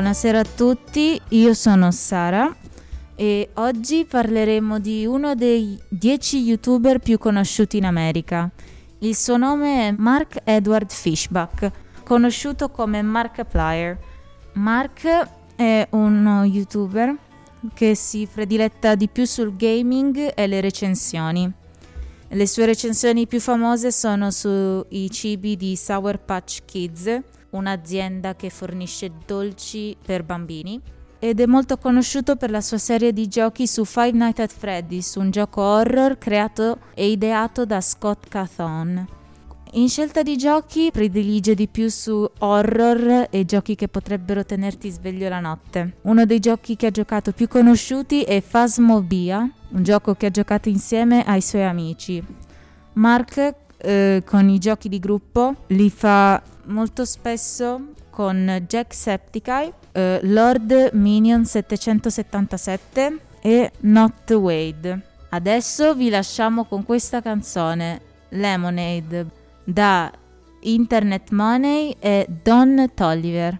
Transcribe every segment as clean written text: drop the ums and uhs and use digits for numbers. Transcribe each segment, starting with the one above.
Buonasera a tutti, io sono Sara e oggi parleremo di uno dei 10 youtuber più conosciuti in America. Il suo nome è Mark Edward Fishbach, conosciuto come Markiplier. Mark è uno youtuber che si prediletta di più sul gaming e le recensioni. Le sue recensioni più famose sono sui cibi di Sour Patch Kids, un'azienda che fornisce dolci per bambini, ed è molto conosciuto per la sua serie di giochi su Five Nights at Freddy's, un gioco horror creato e ideato da Scott Cawthon. In scelta di giochi predilige di più su horror e giochi che potrebbero tenerti sveglio la notte. Uno dei giochi che ha giocato più conosciuti è Phasmophobia, un gioco che ha giocato insieme ai suoi amici. Mark con i giochi di gruppo li fa molto spesso con Jacksepticeye, Lord Minion 777 e Not Wade. Adesso vi lasciamo con questa canzone, Lemonade, da Internet Money e Don Toliver.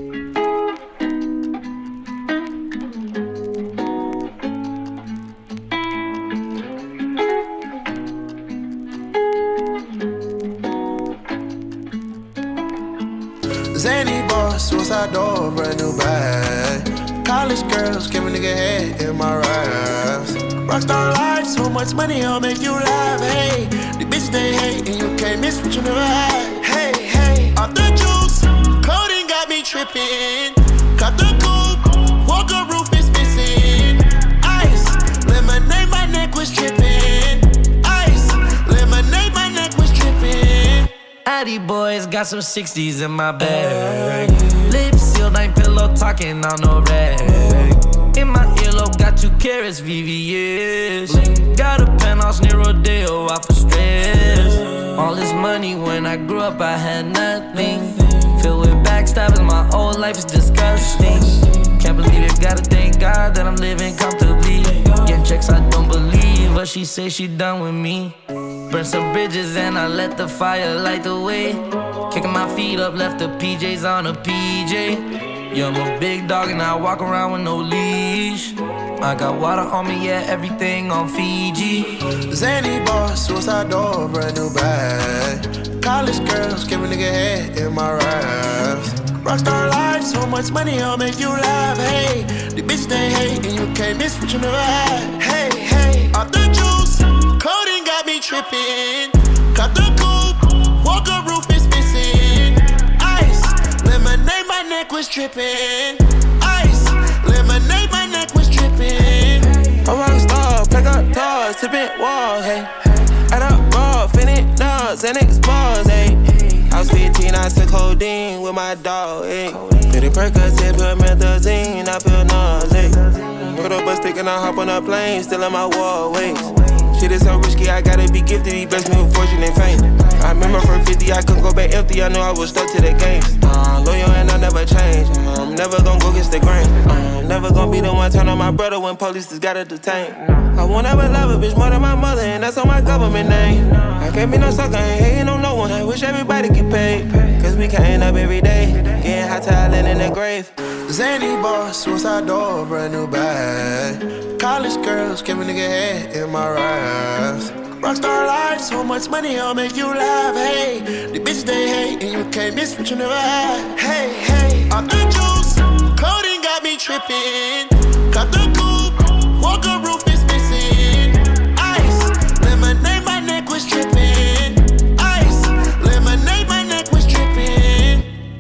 Zany boss, suicide door, brand new bag. College girls, give a nigga head in my raps. Rockstar life, so much money, I'll make you laugh. Hey, the bitch they hate, and you can't miss what you never had. Hey, hey, off the juice, coding got me tripping. Cut the coupe, Walker roof is missing. Ice, lemonade, my neck was tripping. Ice, lemonade, my neck was tripping. Addy boys got some 60s in my bag. Lips sealed, ain't pillow talking on no rag. In my earlobe, got 2 carats, VVS. Got a penthouse near Rodeo, out for stress. All this money, when I grew up, I had nothing. Filled with backstabbing, my whole life is disgusting. Can't believe it, gotta thank God that I'm living comfortably. Getting checks, I don't believe, but she say she done with me. Burn some bridges and I let the fire light the way. Kicking my feet up, left the PJs on a PJ. Yeah, I'm a big dog and I walk around with no leash. I got water on me, yeah, everything on Fiji. Zany boss, suicide door, brand new bag. College girls, give a nigga head in my raps. Rockstar life, so much money, I'll make you laugh. Hey, the bitch they hate, and you can't miss what you never had. Hey, hey, off the juice, coding got me tripping. Cut the coupe, Walker roof is missing. Ice, lemonade, my neck was tripping. Ice, lemonade, my neck was tripping. A rockstar, pack up doors, tipping walls, hey. Add up raw, finish nuts, and expose, hey. I was 15, I took codeine with my dog, hey. Pretty Percocet, put methazine, I feel nauseous. Put up a stick and I hop on a plane, still in my wall, wait. Shit is so risky, I gotta be gifted. He blessed me with fortune and fame. I remember from 50, I couldn't go back empty. I knew I was stuck to the game. Loyal and I never change. I'm never gonna go against the grain. I'm never gonna be the one turn on my brother when police just gotta detain. I won't ever love a bitch more than my mother, and that's on my government name. I can't be no sucker, ain't hating on no one. I wish everybody get paid, cause we can't up every day. Getting hot talent in the grave. Zany boss, suicide door, brand new bag. College girls, give a nigga head in my raps. Rockstar life, so much money, I'll make you laugh. Hey, the bitch they hate, and you can't miss what you never had. Hey, hey, off the juice, coding got me tripping. Cut the coupe, Walker roof is missing. Ice, lemonade, my neck was tripping. Ice, lemonade, my neck was tripping.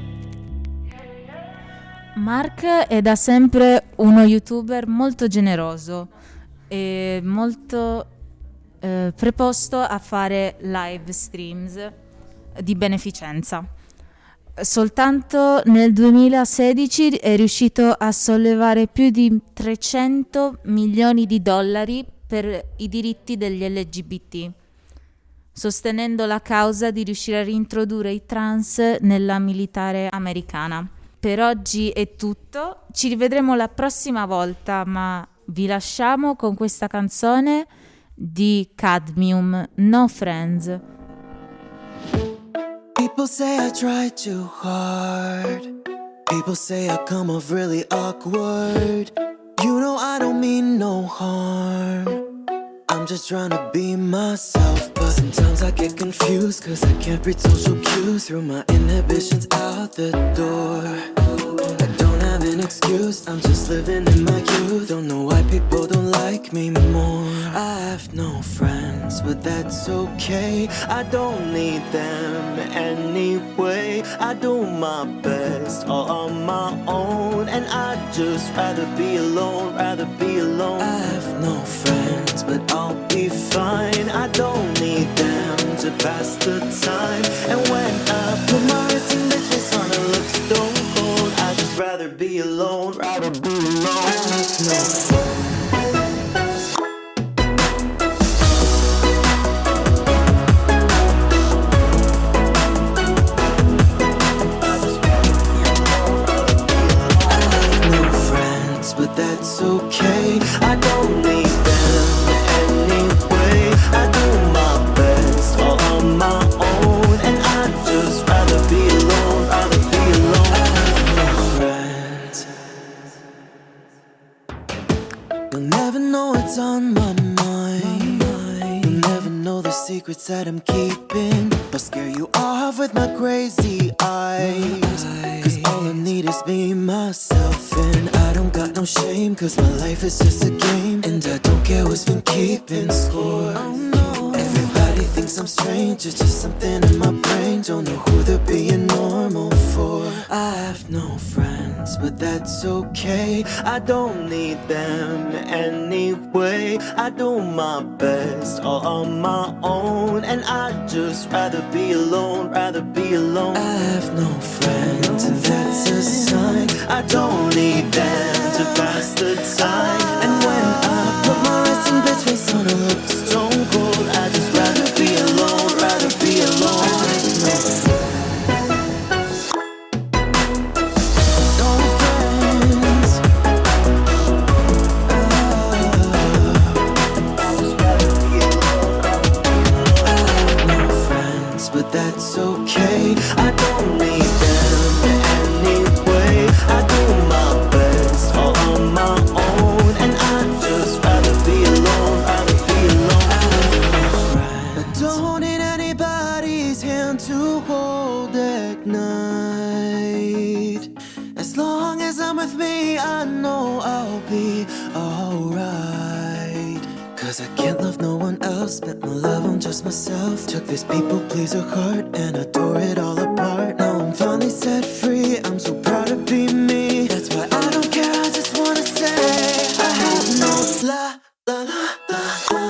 Mark è da sempre uno youtuber molto generoso e molto preposto a fare live streams di beneficenza. Soltanto nel 2016 è riuscito a sollevare più di 300 milioni di dollari per i diritti degli LGBT, sostenendo la causa di riuscire a reintrodurre i trans nella militare americana. Per oggi è tutto, ci rivedremo la prossima volta, ma vi lasciamo con questa canzone di Cadmium, No Friends. People say I try too hard, People say I come off really awkward. You know I don't mean no harm. I'm just trying to be myself, but sometimes I get confused, cause I can't read social cues. Through my inhibitions out the door. I don't have an excuse, I'm just living in my youth. Don't know why people don't like me more. I have no friends, but that's okay. I don't need them anyway. I do my best all on my own, and I'd just rather be alone, rather be alone. I have no friends, but I'll be fine. I don't need them to pass the time. And when I put my wrist in the face on a look stone cold, I'd just rather be alone, rather be alone. I have no friends. But that's okay, I don't need them anyway. I do my best all on my own, and I'd just rather be alone, rather be alone. I have no friends. You'll never know what's on my mind. You'll never know the secrets that I'm keeping. I'll scare you off with my crazy eyes, cause all I need is me, myself, and I don't got no shame, cause my life is just a game, and I don't care who's been keeping score. Everybody thinks I'm strange, it's just something in my brain. Don't know who they're being normal for. I have no friends, but that's okay. I don't need them anyway. I do my best all on my own, and I'd just rather be alone, rather be alone. I have no friends, and that's a sign. I don't need them to pass the time. And when I put my resting bitch face on a look stone cold, I'd just rather be alone, rather be alone. But that's okay, I don't need them anyway. I do my best all on my own, and I'd just rather be alone, rather be alone. I don't need anybody's hand to hold at night. As long as I'm with me, I know I'll be alright. Cause I can't love no one else, spent my love on just myself. Took this people pleaser heart and I tore it all apart. Now I'm finally set free, I'm so proud to be me. That's why I don't care, I just wanna say I have no la la la la la.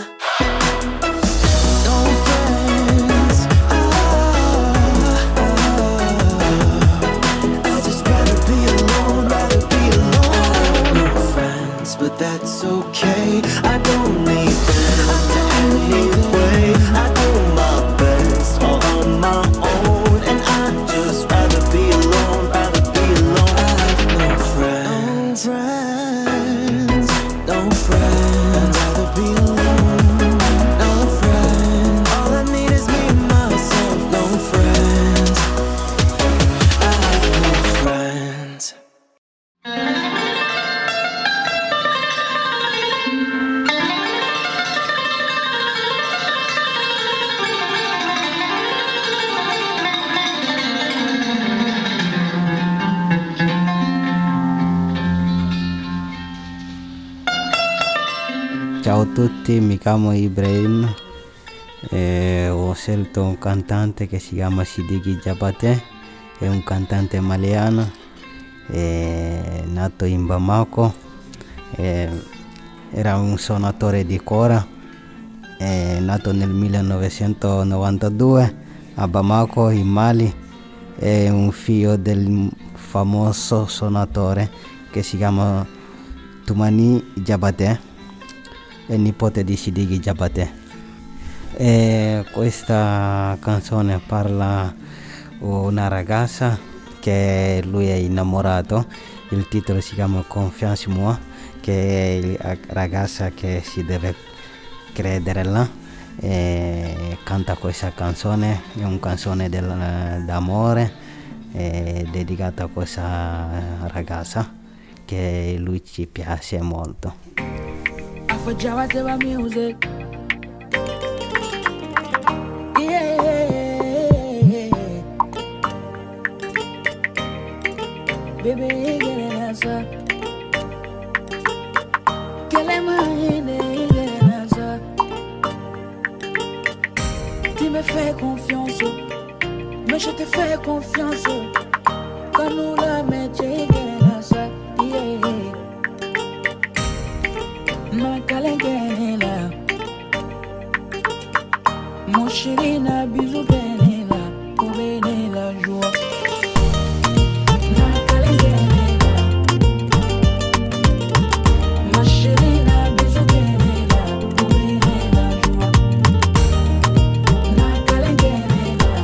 No friends, I'd just rather be alone, rather be alone. No friends, but that's okay, I don't need them anyway. I do my best all on my own, and I'd just rather be alone, rather be alone. I have no friends, no friends, I'd rather be alone. No friends, all I need is me, myself. No friends, I have no friends. Ciao a tutti, mi chiamo Ibrahim e ho scelto un cantante che si chiama Sidiki Diabaté, è un cantante maliano, è nato in Bamako, era un suonatore di cora, è nato nel 1992 a Bamako in Mali, è un figlio del famoso suonatore che si chiama Toumani Diabaté, è nipote di Sidiki Diabaté. E questa canzone parla una ragazza che lui è innamorato, il titolo si chiama Confiance in moi, che è la ragazza che si deve credere là, e canta questa canzone, è una canzone d'amore, è dedicata a questa ragazza che lui ci piace molto. Affacciava teva music. Yeah. Baby, get an answer. Quelle est ma idée, get an answer. Tu me fais confiance, mais je te fais confiance. Quand nous la mettons, get an answer. Yeah. Ma calengela, mon chéri na bisou benela, pour bénir la joie. Ma calengela, ma chéri na bisou benela, pour bénir la joie. Ma calengela,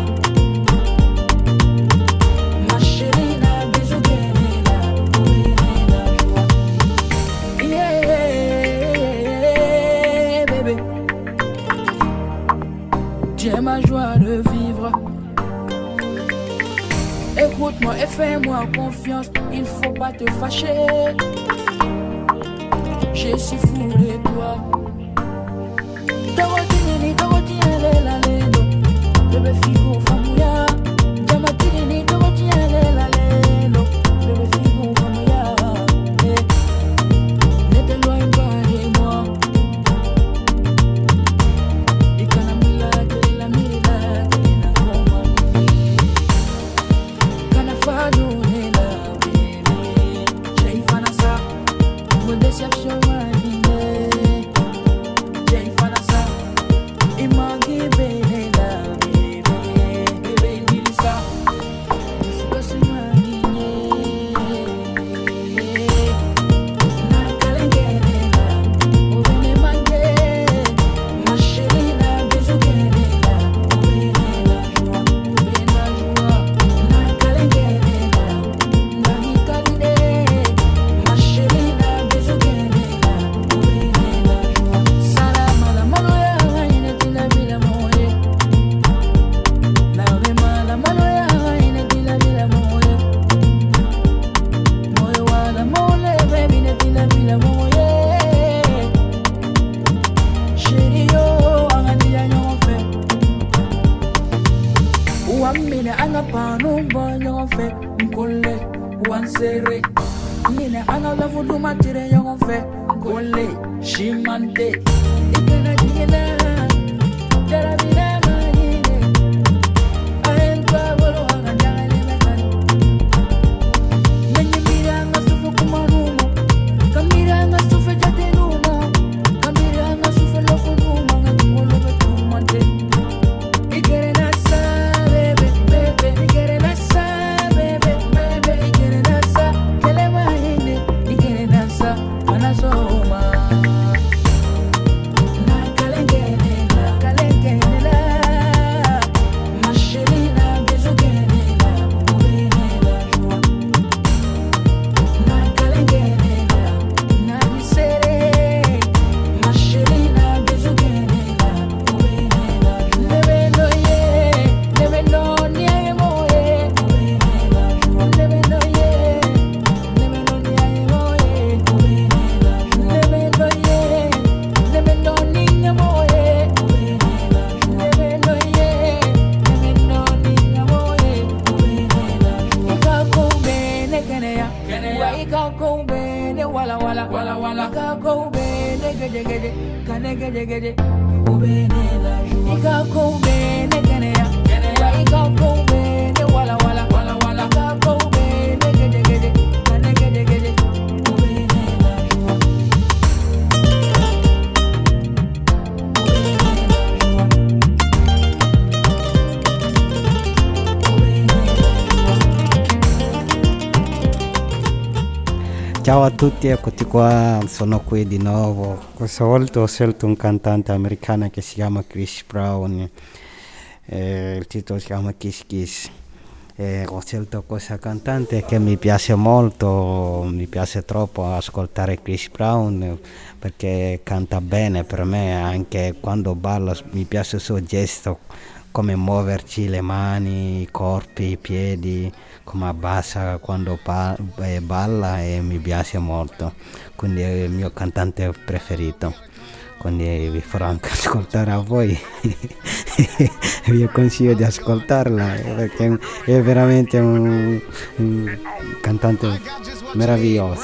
ma chéri na bisou benela, pour bénir la joie. Yeah, baby. Tu es ma joie de vivre. Écoute-moi et fais-moi confiance. Il faut pas te fâcher. Je suis fou de toi. Dorotini, la lendo. Bébé figo famouya. Jamatini, Dorotini, la lendo. Bébé figo famouya. Ne t'éloigne pas de moi. Ciao a tutti, eccoti qua, sono qui di nuovo. Questa volta ho scelto un cantante americano che si chiama Chris Brown, il titolo si chiama Kiss Kiss. Ho scelto questa cantante che mi piace molto, mi piace troppo ascoltare Chris Brown perché canta bene per me, anche quando balla mi piace il suo gesto, come muoverci le mani, i corpi, i piedi, come abbassa quando balla e mi piace molto, quindi è il mio cantante preferito, quindi vi farò anche ascoltare a voi. Vi consiglio di ascoltarla perché è veramente un cantante meraviglioso.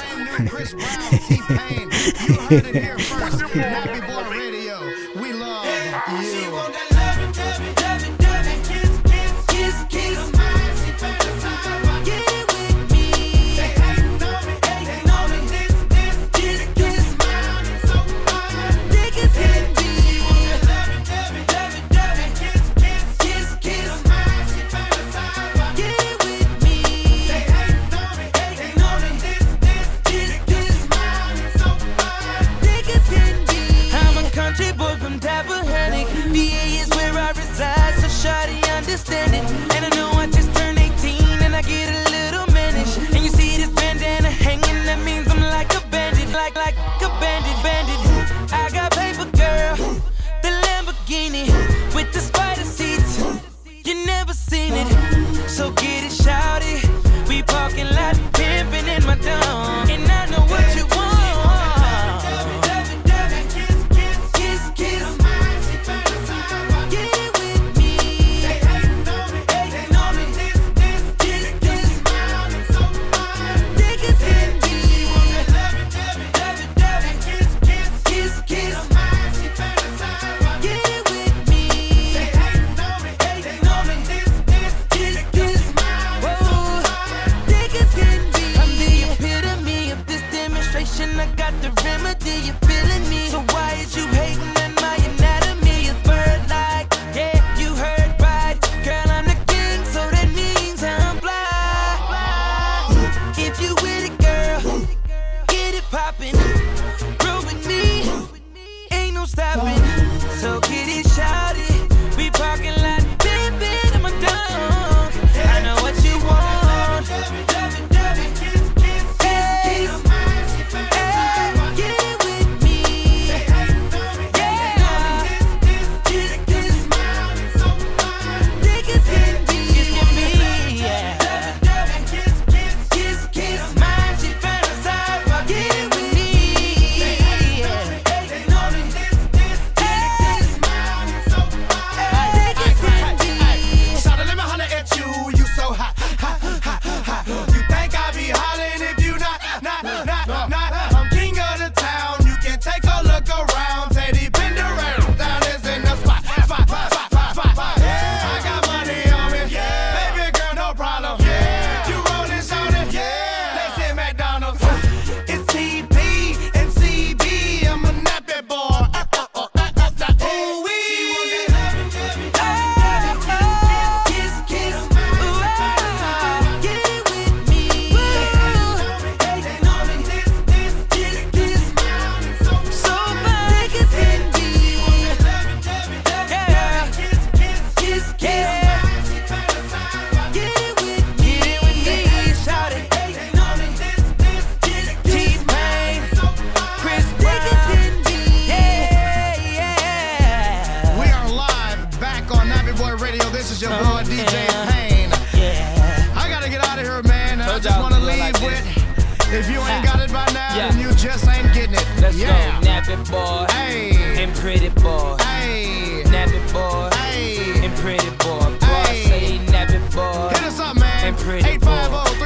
If you ain't got it by now, then you just ain't getting it. Let's go, Nappy boy, hey, and pretty boy, hey, Nappy boy, hey, and pretty boy. Boy, say Nappy boy. Hit us up, man. And pretty boy.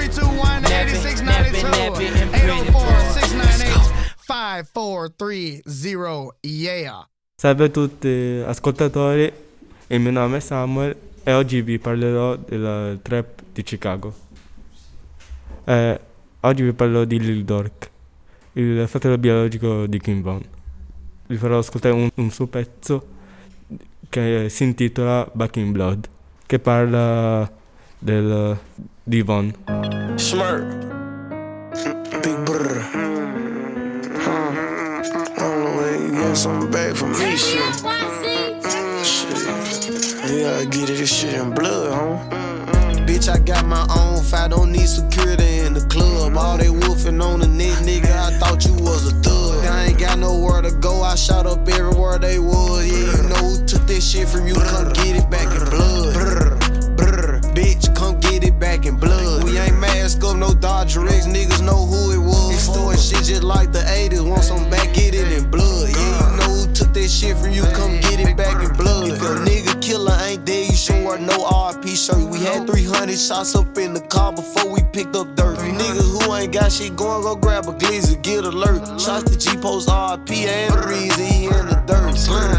850-321-8692. 804-698-5430. Yeah. Salve a tutti ascoltatori, il mio nome è Samuel e oggi vi parlerò della trap di Chicago. Oggi vi parlo di Lil Durk, il fratello biologico di King Von. Vi farò ascoltare un suo pezzo che si intitola Back in Blood, che parla di Von. Smirk, Big Brr. I don't know when you get something back from me, shit. You gotta get it, this shit in blood, huh? Bitch, I got my own fight, don't need security in the club. All they wolfing on the net, nigga, I thought you was a thug. I ain't got nowhere to go, I shot up everywhere they was. Yeah, you know who took that shit from you, come get it back in blood. Brr, brr, bitch, come get it back in blood. We Dodger X, niggas know who it was. Extorting shit just like the 80s, want some back, get it in blood. Yeah, you know who took that shit from you, come get it back in blood. If your nigga killer ain't dead, you should wear no RP shirt. We had 300 shots up in the car before we picked up dirt. You niggas who ain't got shit going, go grab a glizzy, get alert. Shots to G-Post RP and the reason he in the dirt.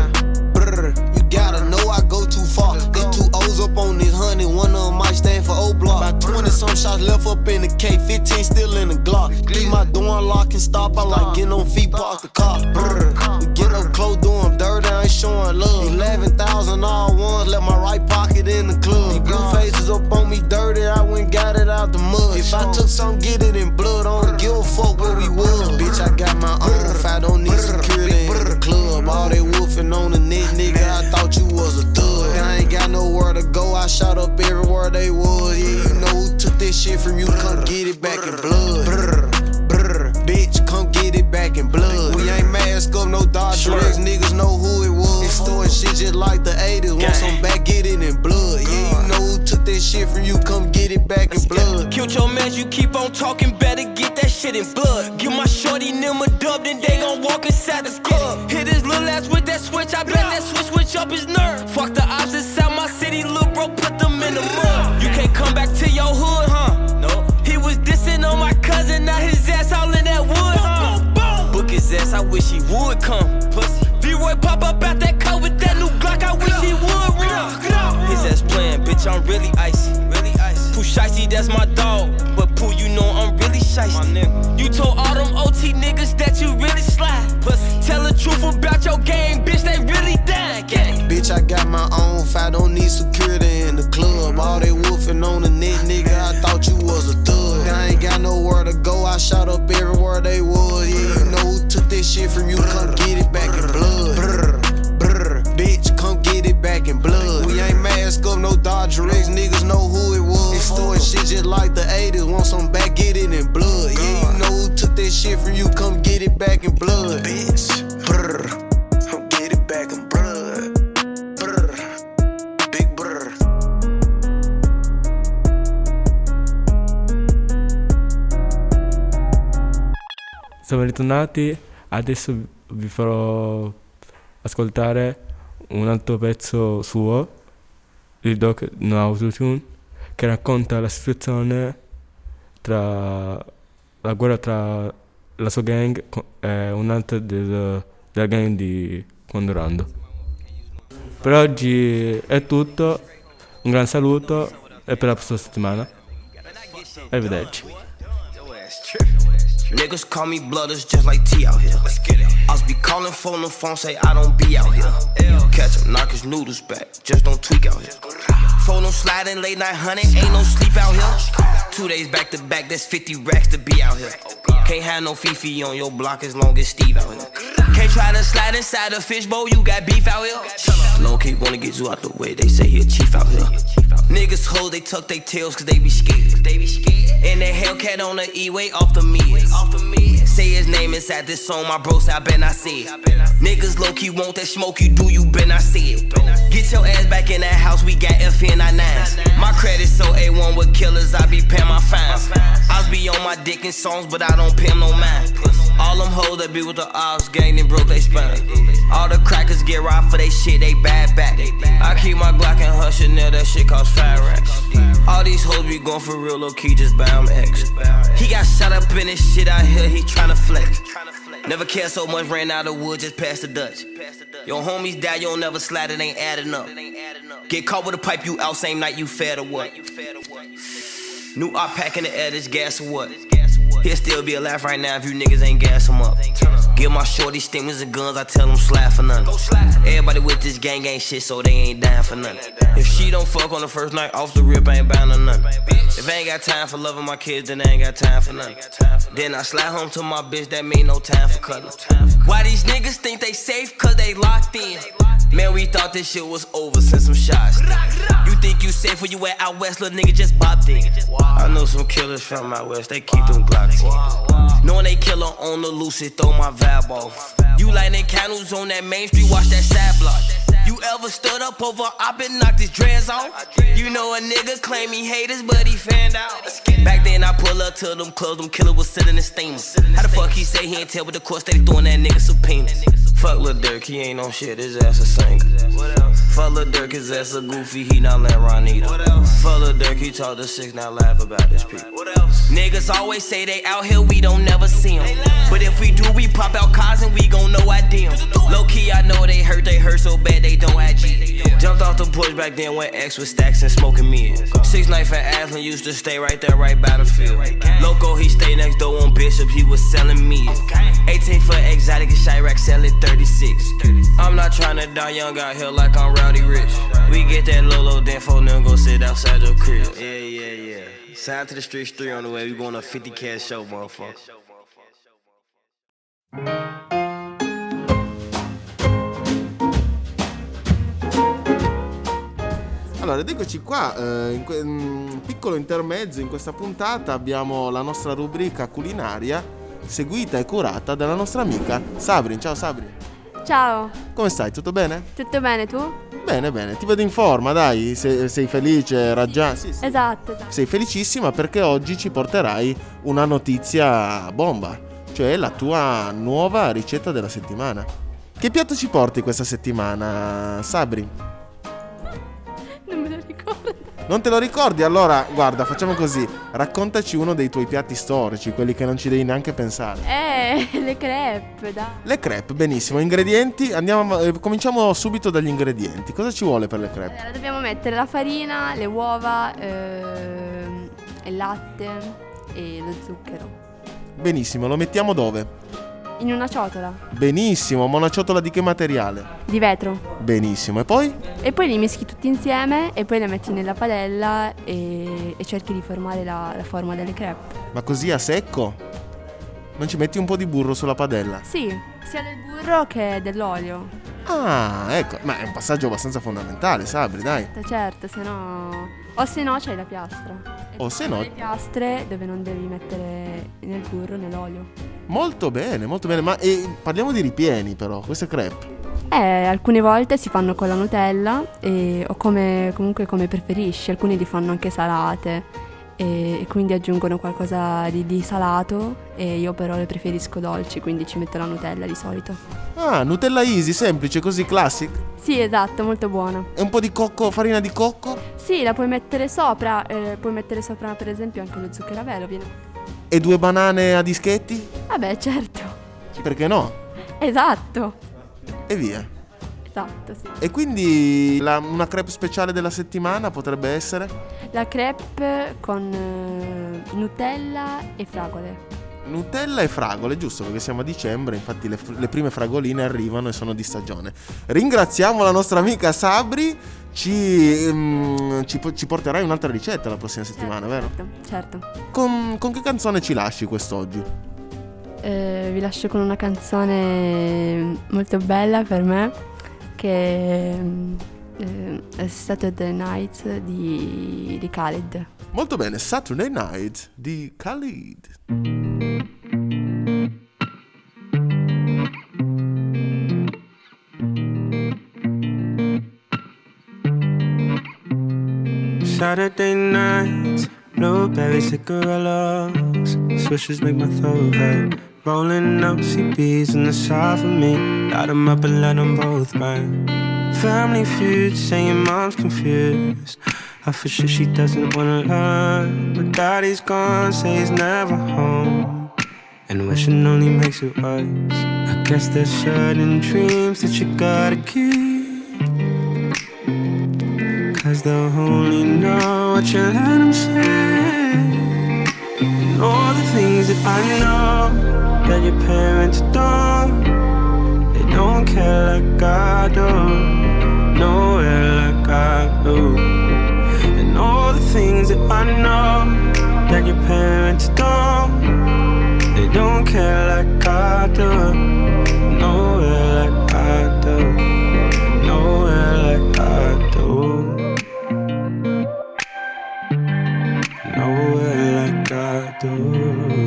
You gotta know I go too far. There's 2 O's up on this 100, one of them might stand for O-Block. About 20 some shots left up in the K, 15 still in the Glock. Leave my door unlocked and stop, I like getting on feet, park the car. We get up close, doing dirty, I ain't showing love. 11,000 all ones, left my right pocket in the club. These blue faces up on me dirty, I went got it out the mud. If I took some, get it in blood, I don't give a fuck where we was. Bitch, I got my own, if I don't need security in the club. All they woofing on the net, nigga, I thought you was a thug. I ain't got nowhere to go, I shot up everywhere they was. Yeah, you know who took this shit from you, come get it back in blood. Bitch, come get it back in blood. We ain't mask up, no Dodger X, niggas know who it was. Extorting shit just like the 80s, want some back, get it in blood. Yeah, you know who took that shit from you, come get it back in blood. Killed your mans, you keep on talking, better get that shit in blood. Give my shorty them a dub, then they gon' walk inside the club. Hit his little ass with that switch, I bet that switch up his nerve. Fuck the ops inside my city, lil' bro, put them in the mud. You can't come back to your hood, huh? No. He was dissing on my cousin, now his ass all in that wood, huh? Book his ass, I wish he would come. Pussy. V-Roy pop up out that car with that new Glock, I wish he would run. His ass playing, bitch, I'm really icy. Pooh Shicey, that's my dog. But Pooh, you know I'm really shicey. You told all them OT niggas that you really slide. Pussy. Tell the truth about your game, bitch, they really dying. Bitch, I got my own, if I don't need security in the club. All they woofing on the net, nigga, I thought you was a thug. I ain't got nowhere to go, I shot up everywhere they was. Yeah, you know who took this shit from you, come get it back in blood. Bitch, come get it back in blood. We ain't mask up, no Dodger X, niggas know who it was. Extorting shit just like the 80s, want some back, get it in blood. Yeah, you know who took that shit from you, come get it back in blood. Bitch, come get it back in blood. Big brr. Siamo ritornati, adesso vi farò ascoltare un altro pezzo suo, il Doc No Autotune, che racconta la situazione tra la guerra tra la sua gang e un'altra della gang di Condorando. Per oggi è tutto, un gran saluto e per la prossima settimana. Arrivederci. Niggas call me blooders just like T out here. Let's get it. I'll be calling phone, the phone say I don't be out here. Catch him, knock his noodles back, just don't tweak out here. Phone them sliding late night hunting, ain't no sleep out here. 2 days back to back, that's 50 racks to be out here. Can't have no Fifi on your block as long as Steve out here. Can't try to slide inside a fishbowl, you got beef out here. Long K wanna get you out the way, they say he a chief out here. Niggas hoes, they tuck their tails cause they be scared. And that Hellcat on the E-way off the meds. Say his name inside this song, my bro say I bet I see it. Niggas low-key want that smoke you do, you bet I see it. Get your ass back in that house, we got FN99s. My credit so A1 with killers, I be paying my fines. I be on my dick in songs, but I don't pay them no mind. All them hoes that be with the ops gang, then broke they spine. All the crackers get robbed for they shit, they bad back. I keep my Glock and her Chanel, that shit cost 5 racks. All these hoes be going for real, low key, just buy them X. He got shot up in this shit out here, he tryna flex. Never cared so much, ran out of wood, just past the Dutch. Your homies die, you don't never slide, it ain't adding up. Get caught with a pipe, you out same night, you fed or what? New op pack in the air, this gas or what? He'll still be alive right now if you niggas ain't gas him up. Give my shorty stimulus and guns, I tell them slap for nothing. Everybody with this gang ain't shit, so they ain't dying for nothing. If she don't fuck on the first night, off the rip, I ain't bound to nothing. If I ain't got time for loving my kids, then I ain't got time for nothing. Then I slide home to my bitch, that mean no time for cutting. Why these niggas think they safe? Cause they locked in. Man, we thought this shit was over since some shots. You think you safe when you at out west, little nigga just bopped in. I know some killers from out west, they keep them Glocks in. Knowing they killer on the loose, it throw my vibe off. You lighting candles on that main street, watch that side block. You You ever stood up over op and knocked his dreads off? You know a nigga claim he haters, but he fanned out. Back then I pull up to them clubs, them killer was sitting in steamers. How the fuck he say he ain't tell, but the court steady throwing that nigga subpoenas. Fuck Lil Durk, he ain't on shit, his ass a singer. Fuck Lil Durk, his ass a goofy, he not let Ron either. Fuck Lil Durk, he talk to 6, now laugh about this people. Niggas always say they out here, we don't never see them. But if we do, we pop out cars and we gon' know I dim. Low key, I know they hurt so bad they don't IG. Jumped off the porch back then when X was stacks and smoking me. 6 Knife at Aslan used to stay right there, right by the field. Loco, he stay next door on Bishop, he was selling me. 18 for exotic and Chirac, selling 36. I'm not tryna die young out here like I'm Rowdy Rich. We get that Lolo, then for them go sit outside your crib. Yeah. Sign to the Streets 3 on the way, we going a 50 cash show, motherfucker. Allora, ed eccoci qua, in un piccolo intermezzo in questa puntata abbiamo la nostra rubrica culinaria seguita e curata dalla nostra amica Sabrin. Ciao Sabrin. Ciao. Come stai? Tutto bene? Tutto bene, tu? Bene, ti vedo in forma, dai, sei felice, raggià. Sì. Esatto. Sei felicissima perché oggi ci porterai una notizia bomba, cioè la tua nuova ricetta della settimana. Che piatto ci porti questa settimana, Sabri? Non me lo ricordo. Non te lo ricordi? Allora, guarda, facciamo così. Raccontaci uno dei tuoi piatti storici, quelli che non ci devi neanche pensare. Le crepe, dai. Le crepe, benissimo. Ingredienti? Cominciamo subito dagli ingredienti. Cosa ci vuole per le crepe? Allora, dobbiamo mettere la farina, le uova, il latte e lo zucchero. Benissimo, lo mettiamo dove? In una ciotola. Benissimo, ma una ciotola di che materiale? Di vetro. Benissimo, e poi? E poi li mischi tutti insieme e poi le metti nella padella e cerchi di formare la forma delle crepe. Ma così a secco? Non ci metti un po' di burro sulla padella? Sì, sia del burro che dell'olio. Ah, ecco, ma è un passaggio abbastanza fondamentale, Sabri, dai. Certo, se no... O se no c'hai la piastra. O se no... le piastre dove non devi mettere né il burro né l'olio. Molto bene, ma parliamo di ripieni però, queste crepe. Alcune volte si fanno con la Nutella o comunque come preferisci. Alcuni li fanno anche salate e quindi aggiungono qualcosa di salato, e io però le preferisco dolci, quindi ci metto la Nutella di solito. Ah, Nutella easy, semplice, così classic? Sì, esatto, molto buona. E un po' di farina di cocco? Sì, la puoi mettere sopra, per esempio anche lo zucchero a velo viene. E 2 banane a dischetti? Vabbè, certo. Perché no? Esatto. E via. Esatto, sì. E quindi una crepe speciale della settimana potrebbe essere? La crepe con Nutella e fragole. Nutella e fragole, giusto, perché siamo a dicembre, infatti le prime fragoline arrivano e sono di stagione. Ringraziamo la nostra amica Sabri, ci porterai un'altra ricetta la prossima settimana, vero? Certo. Con che canzone ci lasci quest'oggi? Vi lascio con una canzone molto bella per me, che è Saturday Night di Khalid. Molto bene, Saturday Night di Khalid. Saturday night, blueberry cigarillos, swishes make my throat hurt. Rolling up CBs in the side for me, light them up and let them both burn. Family feud, saying mom's confused. I for sure she doesn't wanna learn, but daddy's gone, say he's never home, and wishing only makes it worse. I guess there's certain dreams that you gotta keep, 'cause they'll only know what you let them say. And all the things that I know that your parents don't, they don't care like I do, nowhere like I do. And all the things that I know that your parents don't, they don't care like I do, nowhere like I do, nowhere like I do, nowhere like I do.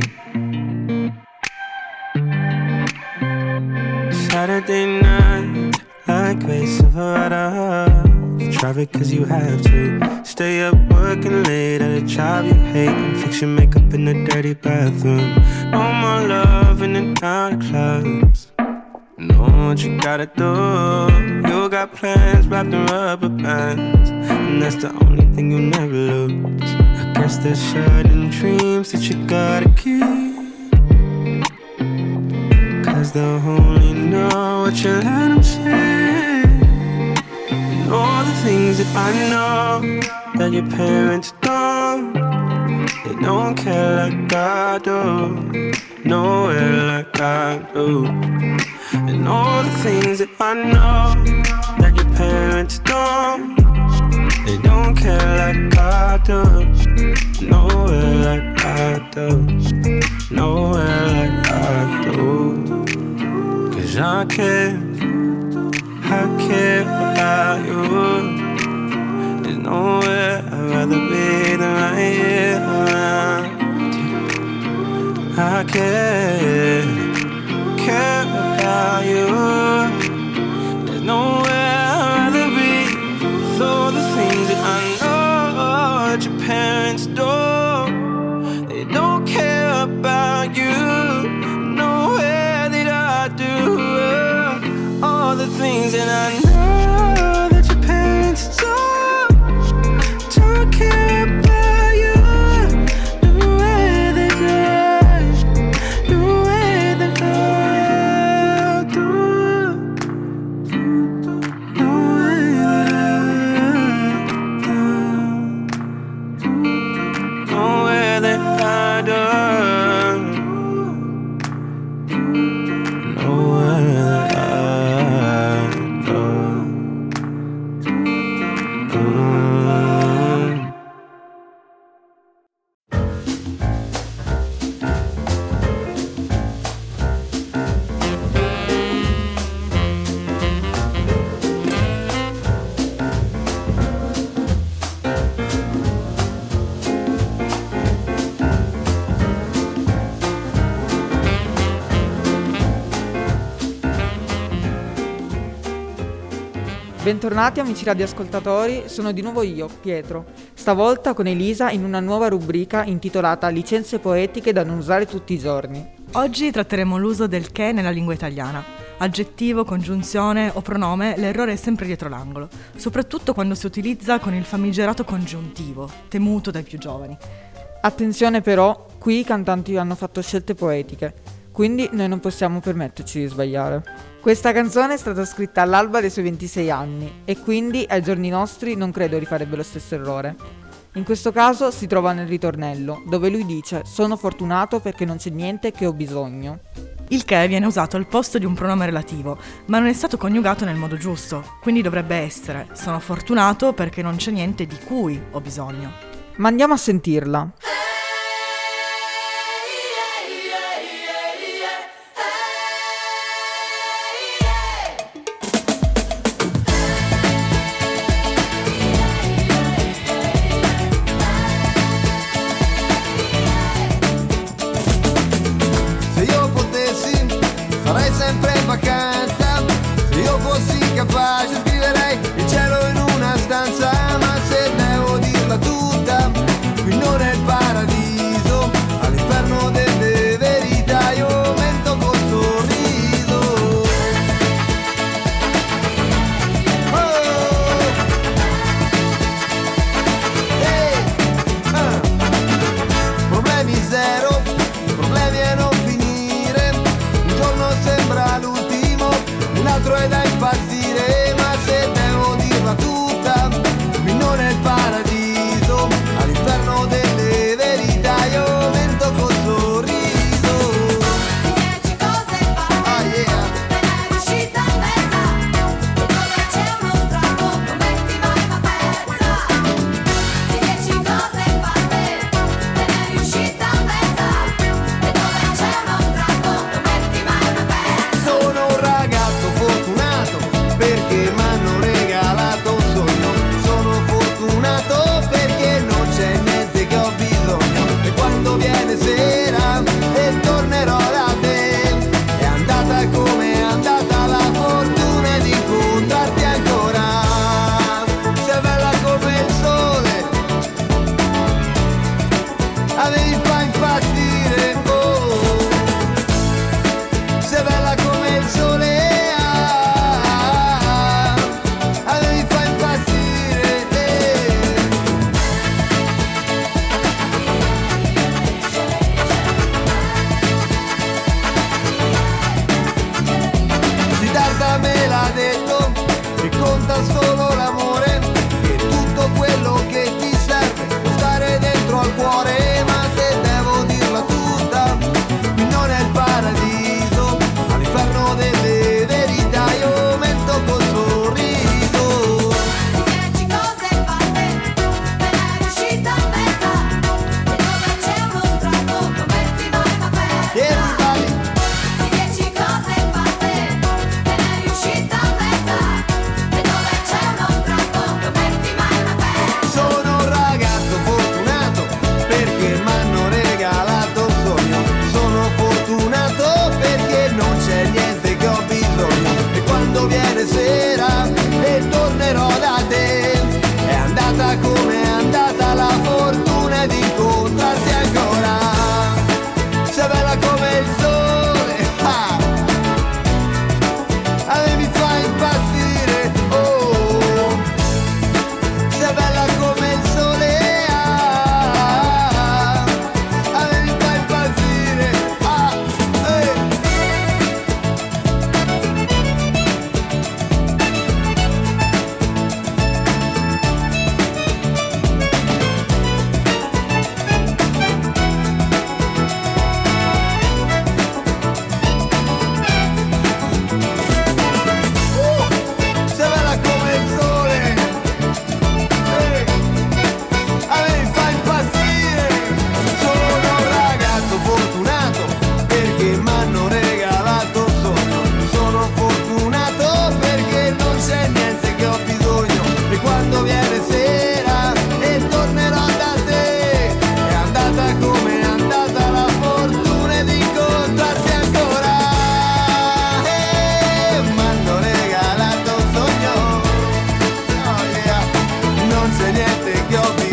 Saturday night, like Grace Silverado. You drive it cause you have to. Stay up working late at a job you hate and fix your makeup in the dirty bathroom. No more love in the night clubs. Know what you gotta do. You got plans wrapped in rubber bands, and that's the only thing you'll never lose. I guess there's certain dreams that you gotta keep, cause they'll only know what you let them say. And all the things that I know that your parents don't, they don't care like I do, nowhere like I do. And all the things that I know that your parents don't, they don't care like I do, nowhere like I do, nowhere like I do. Cause I care about you. There's nowhere I'd rather be than right here around. I care about you. There's nowhere I'd rather be. With all the things that I know that your parents do, they don't care about you. Nowhere that I do. All the things that I know that your parents do, don't care about you. Nowhere that I do. Bentornati amici radioascoltatori, sono di nuovo io, Pietro, stavolta con Elisa in una nuova rubrica intitolata Licenze poetiche da non usare tutti i giorni. Oggi tratteremo l'uso del che nella lingua italiana. Aggettivo, congiunzione o pronome, l'errore è sempre dietro l'angolo, soprattutto quando si utilizza con il famigerato congiuntivo, temuto dai più giovani. Attenzione però, qui i cantanti hanno fatto scelte poetiche, quindi noi non possiamo permetterci di sbagliare. Questa canzone è stata scritta all'alba dei suoi 26 anni e quindi ai giorni nostri non credo rifarebbe lo stesso errore. In questo caso si trova nel ritornello, dove lui dice «Sono fortunato perché non c'è niente che ho bisogno». Il che viene usato al posto di un pronome relativo, ma non è stato coniugato nel modo giusto, quindi dovrebbe essere «Sono fortunato perché non c'è niente di cui ho bisogno». Ma andiamo a sentirla. Farei sempre in vacanza, se io fossi capace scriverei il cielo in una stanza, ma se devo dirla tutta, qui non è il paradiso, all'inferno delle verità io mento col sorriso. Problemi zero, problemi a non finire, un giorno sembra l'ultimo, un altro è da impazzire, sera e tornerò da te. È andata come è andata la fortuna di incontrarti ancora. Sei bella come il sole, ah. A me mi fa impazzire, oh. Sei bella come il sole, ah. A me mi fa impazzire, ah, sei bella come il sole, a me mi fa impazzire. Sono un ragazzo fortunato perché m'hanno regalato un sogno. Sono fortunato perché non c'è niente che ho bisogno. E quando viene sera e tornerò da te, è andata come è andata la fortuna di incontrarti ancora. M'hanno regalato un sogno, oh yeah, non c'è niente che ho bisogno.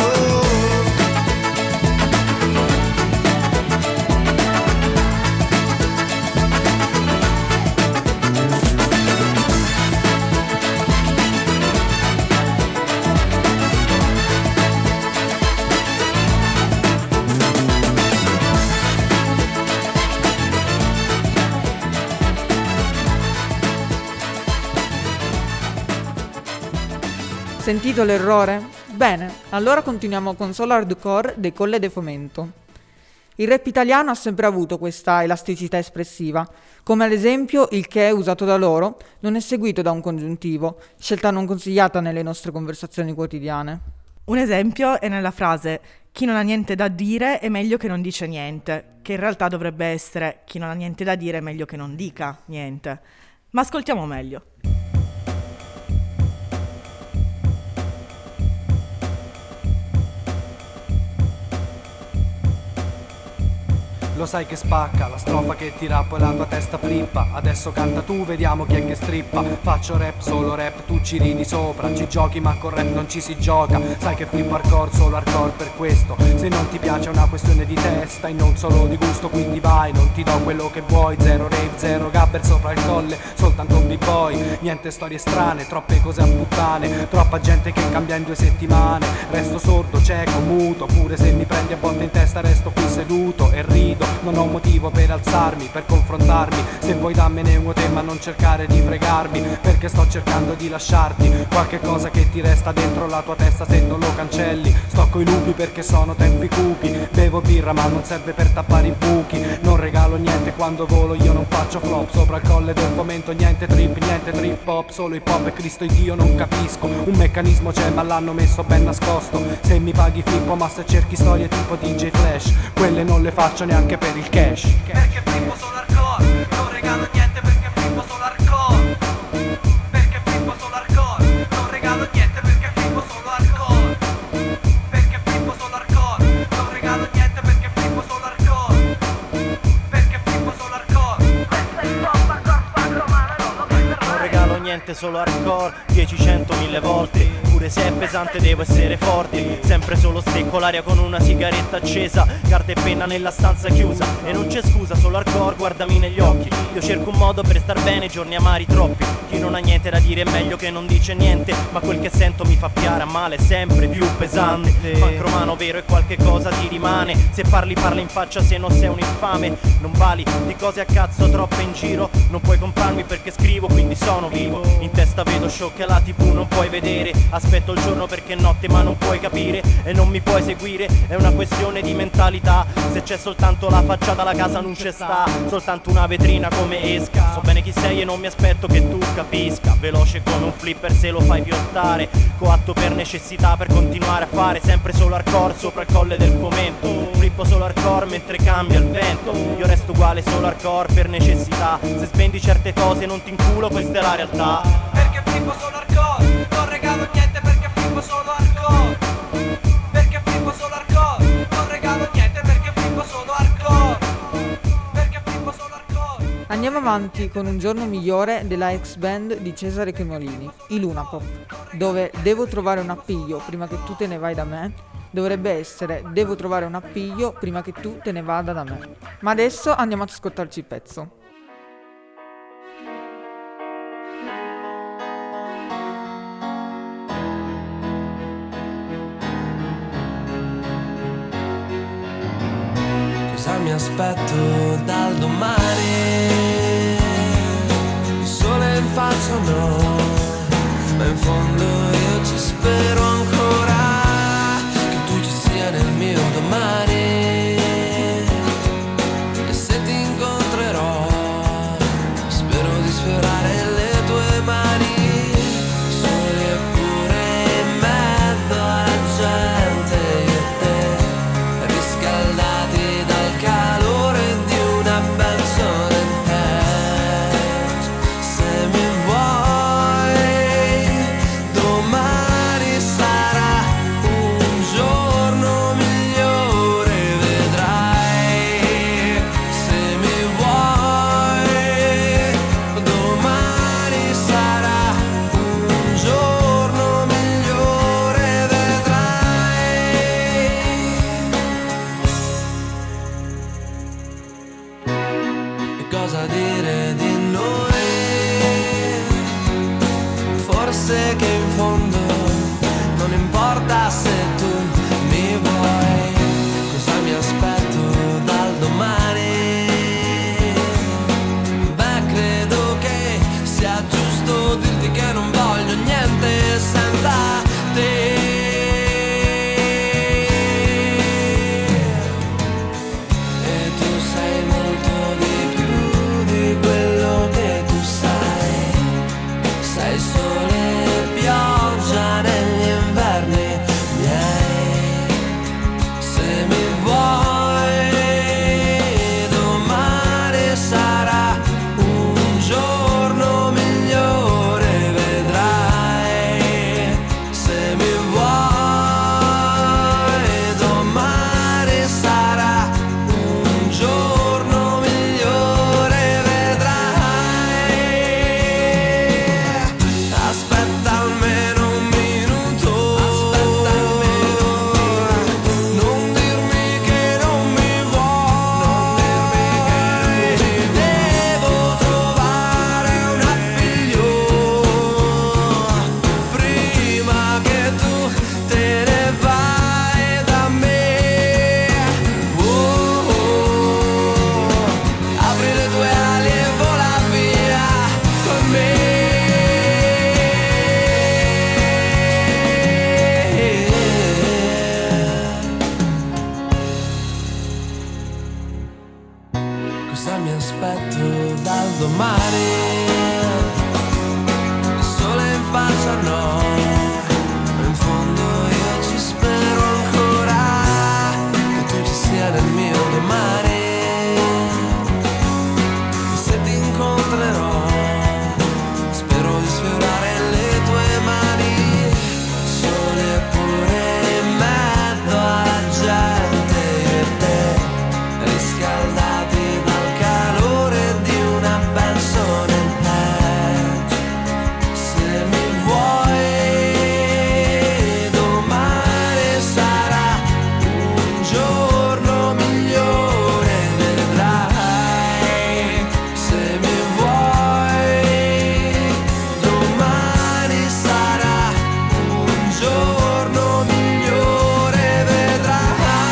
Sentito l'errore? Bene, allora continuiamo con Solo Hardcore dei Colle de Fomento. Il rap italiano ha sempre avuto questa elasticità espressiva, come ad esempio il che usato da loro non è seguito da un congiuntivo, scelta non consigliata nelle nostre conversazioni quotidiane. Un esempio è nella frase "chi non ha niente da dire è meglio che non dice niente", che in realtà dovrebbe essere "chi non ha niente da dire è meglio che non dica niente". Ma ascoltiamo meglio. Lo sai che spacca, la strofa che ti rappo e la tua testa flippa. Adesso canta tu, vediamo chi è che strippa. Faccio rap, solo rap, tu ci ridi sopra. Ci giochi ma con rap non ci si gioca. Sai che flippo hardcore, solo hardcore per questo. Se non ti piace è una questione di testa e non solo di gusto, quindi vai, non ti do quello che vuoi. Zero rave, zero gabber sopra il colle, soltanto un b-boy. Niente storie strane, troppe cose a puttane. Troppa gente che cambia in 2 settimane. Resto sordo, cieco, muto. Pure se mi prendi a botte in testa resto qui seduto e rido. Non ho motivo per alzarmi, per confrontarmi. Se vuoi dammene un te ma non cercare di fregarmi, perché sto cercando di lasciarti qualche cosa che ti resta dentro la tua testa se non lo cancelli. Sto coi lupi perché sono tempi cupi. Bevo birra ma non serve per tappare i buchi. Non regalo niente quando volo, io non faccio flop. Sopra il colle del fomento niente trip hop. Solo hip hop e Cristo e Dio non capisco. Un meccanismo c'è ma l'hanno messo ben nascosto. Se mi paghi flippo ma se cerchi storie tipo DJ Flash, quelle non le faccio neanche per il cash. Perché flippo solo hardcore, non regalo niente perché flippo solo hardcore. Perché flippo solo hardcore, non regalo niente perché flippo solo hardcore. Perché flippo solo hardcore, non regalo niente perché flippo solo hardcore. Perché flippo solo hardcore. Non regalo niente, solo hardcore, 10, 100, 1000 volte. Pure se è pesante devo essere forte. Sempre solo stecco l'aria con una sigaretta accesa. Carta e penna nella stanza chiusa. E non c'è scusa, solo hardcore, guardami negli occhi. Io cerco un modo per star bene, giorni amari troppi. Chi non ha niente da dire è meglio che non dice niente. Ma quel che sento mi fa piare a male, sempre più pesante. Punk romano vero e qualche cosa ti rimane. Se parli parla in faccia, se no sei un infame. Non vali di cose a cazzo troppe in giro. Non puoi comprarmi perché scrivo, quindi sono vivo. In testa vedo show che la TV non puoi vedere. Aspetto il giorno perché è notte ma non puoi capire. E non mi puoi seguire, è una questione di mentalità. Se c'è soltanto la facciata la casa non c'è sta. Soltanto una vetrina come esca. So bene chi sei e non mi aspetto che tu capisca. Veloce come un flipper se lo fai piottare. Coatto per necessità per continuare a fare sempre solo hardcore sopra il colle del fomento. Flippo solo hardcore mentre cambia il vento. Io resto uguale solo hardcore per necessità. Se spendi certe cose non ti inculo, questa è la realtà. Perché flippo solo hardcore, non regalo niente perché flippo solo hardcore. Perché flippo solo hardcore, non regalo niente perché flippo solo hardcore. Perché flippo solo hardcore. Andiamo avanti con Un giorno migliore della ex band di Cesare Cremolini, i Lunapop, dove Devo trovare un appiglio prima che tu te ne vai da me dovrebbe essere Devo trovare un appiglio prima che tu te ne vada da me. Ma adesso andiamo ad ascoltarci il pezzo. Cosa mi aspetto dal domani? Il sole in faccia no, ma in fondo io ci spero ancora che tu ci sia nel mio domani. E se ti incontrerò spero di sfiorare le tue mani, soli eppure in mezzo alla gente, io e te riscaldati dal calore di una benson and hash. Se mi vuoi domani sarà un giorno migliore, vedrai. Se mi vuoi domani sarà un giorno migliore, vedrai. E cosa dire di noi? Forse che in fondo non importa se tu mi vuoi. Cosa mi aspetto dal domani? Beh, credo che sia giusto dirti che non voglio niente senza te. E tu sei molto di più di quello che tu sai. Sei sole e pioggia negli inverni miei. Se mi vuoi domani sarà un giorno migliore, vedrai. Se mi vuoi domani sarà un giorno migliore, vedrai. Aspetta almeno un minuto, non dirmi che non mi vuoi. Devo trovare un appiglio prima che tu te ne vai da me. Apri le tue ali e vola via con me. Cosa mi aspetto dal domani? Il sole in faccia no, ma in fondo io ci spero ancora che tu ci sia nel mio domani. E se ti incontrerò spero di sfiorare le tue mani, sole pure in mezzo alla gente, io e te riscaldati dal calore di una benson and hash. Se mi vuoi domani sarà un giorno migliore, vedrai. Se mi vuoi domani sarà un giorno migliore, vedrai.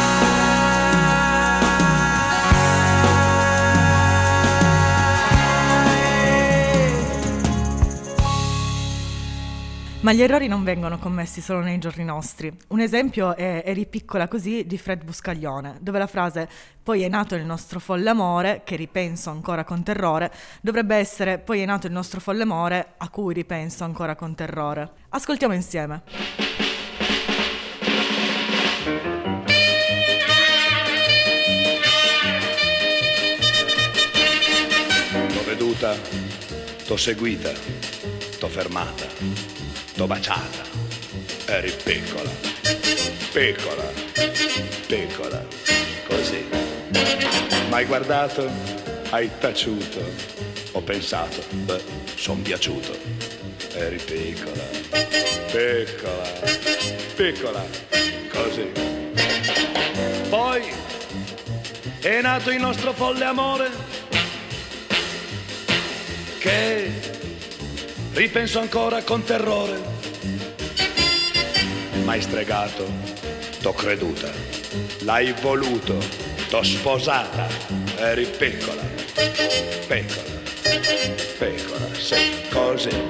Ma gli errori non vengono commessi solo nei giorni nostri. Un esempio è Eri piccola così di Fred Buscaglione, dove la frase "poi è nato il nostro folle amore, che ripenso ancora con terrore", dovrebbe essere "poi è nato il nostro folle amore, a cui ripenso ancora con terrore". Ascoltiamo insieme. T'ho veduta, t'ho seguita, t'ho fermata, t'ho baciata. Eri piccola, piccola, piccola, così. M'hai guardato, hai taciuto, Ho pensato, son piaciuto. Eri piccola, piccola, piccola, così. Poi è nato il nostro folle amore, che ripenso ancora con terrore. M'hai stregato, t'ho creduta, l'hai voluto, t'ho sposata. Eri piccola, piccola, piccola, sì, così.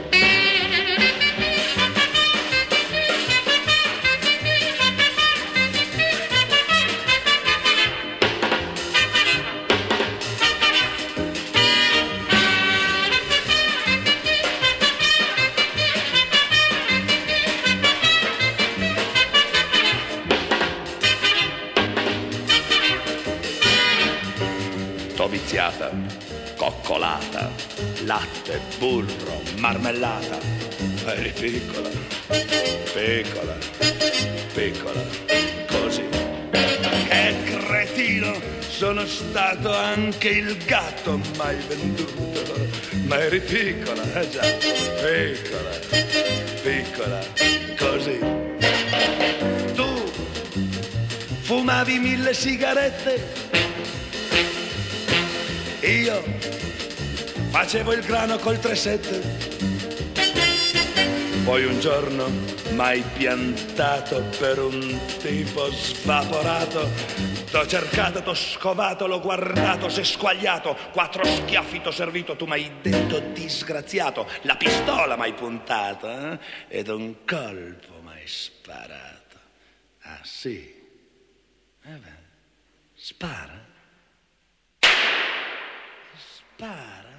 Viziata, coccolata, latte, burro, marmellata. Eri piccola, piccola, piccola, così. Che cretino, sono stato anche il gatto mai venduto. Ma eri piccola, già, piccola, piccola, così. Tu fumavi 1000 sigarette, io facevo il grano col 3-7. Poi un giorno m'hai piantato per un tipo svaporato. T'ho cercato, t'ho scovato, l'ho guardato, s'è squagliato. 4 schiaffi t'ho servito, tu m'hai detto disgraziato. La pistola m'hai puntata, ed un colpo m'hai sparato. Ah sì? Spara. Spara.